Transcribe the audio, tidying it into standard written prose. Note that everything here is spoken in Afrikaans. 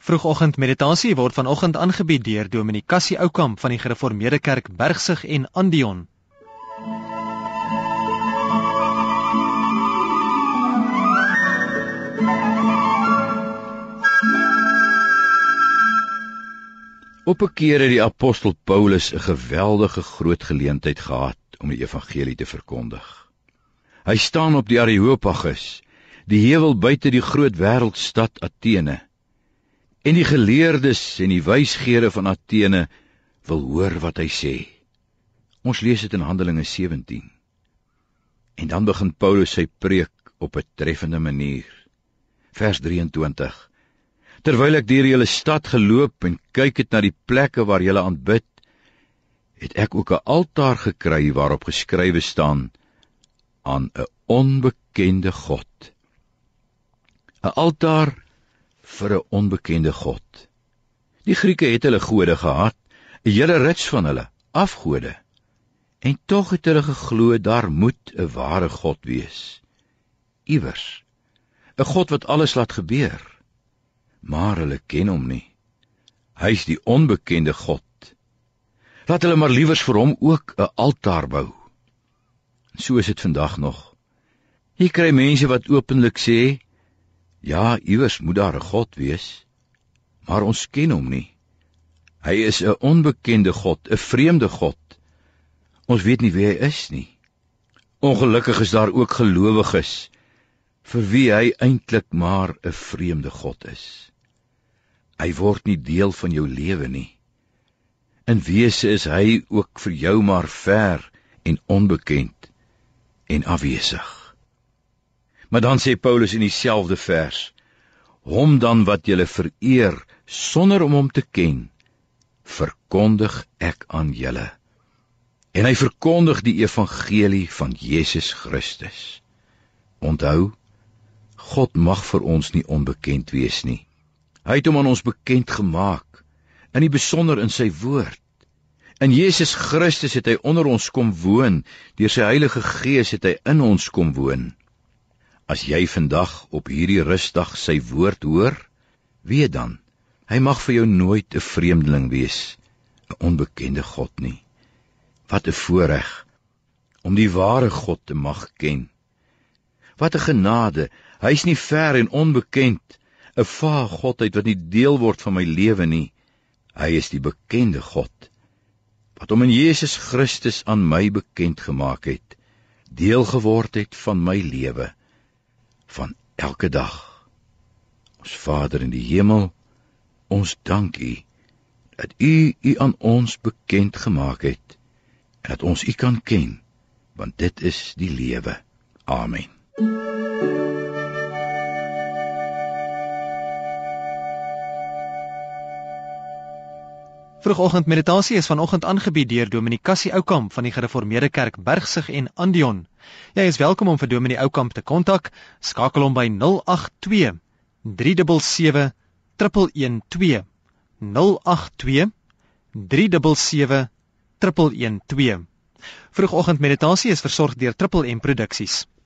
Vroegoggend meditasie word vanoggend aangebied deur Dominee Cassie Oukamp van die Gereformeerde Kerk Bergsig en Andion. Op 'n keer het die apostel Paulus 'n geweldige groot geleentheid gehad om die evangelie te verkondig. Hy staan op die Areopagus, die heuwel buite die groot wêreldstad Athene. En die geleerdes en die wysgeere van Athene wil hoor wat hy sê. Ons lees dit in Handelinge 17. En dan begin Paulus sy preek op 'n treffende manier. Vers 23. Terwyl ek deur julle stad geloop en kyk het na die plekke waar julle aanbid, het ek ook 'n altaar gekry waarop geskrywe staan, aan 'n onbekende God. 'n Altaar vir 'n onbekende God. Die Grieke het hulle gode gehad, 'n hele rits van hulle, afgode. En tog het hulle geglo daar moet 'n ware God wees. Iewers, 'n God wat alles laat gebeur. Maar hulle ken hom nie. Hy's die onbekende God. Laat hulle maar liewers vir hom ook 'n altaar bou. So is dit vandag nog. Jy kry mense wat openlik sê, ja, iewers moet daar 'n God wees, maar ons ken hom nie. Hy is 'n onbekende God, 'n vreemde God. Ons weet nie wie hy is nie. Ongelukkig is daar ook gelowiges, vir wie hy eintlik maar 'n vreemde God is. Hy word nie deel van jou lewe nie. In wese is hy ook vir jou maar ver en onbekend en afwesig. Maar dan sê Paulus in dieselfde vers, hom dan wat julle vereer, sonder om hom te ken, verkondig ek aan julle. En hy verkondig die evangelie van Jesus Christus. Onthou, God mag vir ons nie onbekend wees nie. Hy het hom aan ons bekend gemaak, in die besonder in sy woord. In Jesus Christus het hy onder ons kom woon, deur sy Heilige Gees het hy in ons kom woon. As jy vandag op hierdie rustdag sy woord hoor, weet dan, hy mag vir jou nooit 'n vreemdeling wees, 'n onbekende God nie. Wat 'n voorreg om die ware God te mag ken. Wat 'n genade, hy's nie ver en onbekend, 'n vae Godheid wat nie deel word van my lewe nie. Hy is die bekende God, wat hom in Jesus Christus aan my bekend gemaak het, deel geword het van my lewe, van elke dag. Ons Vader in die hemel, ons dank U, dat U aan ons bekend gemaak het, en dat ons U kan ken, want dit is die lewe. Amen. Vroegoggend meditasie is vanoggend aangebied deur Dominee Cassie Oukamp van die Gereformeerde Kerk Bergsig en Andion. Jy is welkom om vir Dominee Oukamp te kontak. Skakel hom by 082 377 112. 082 377 112. Vroegoggend meditasie is versorg deur Triple M Produksies.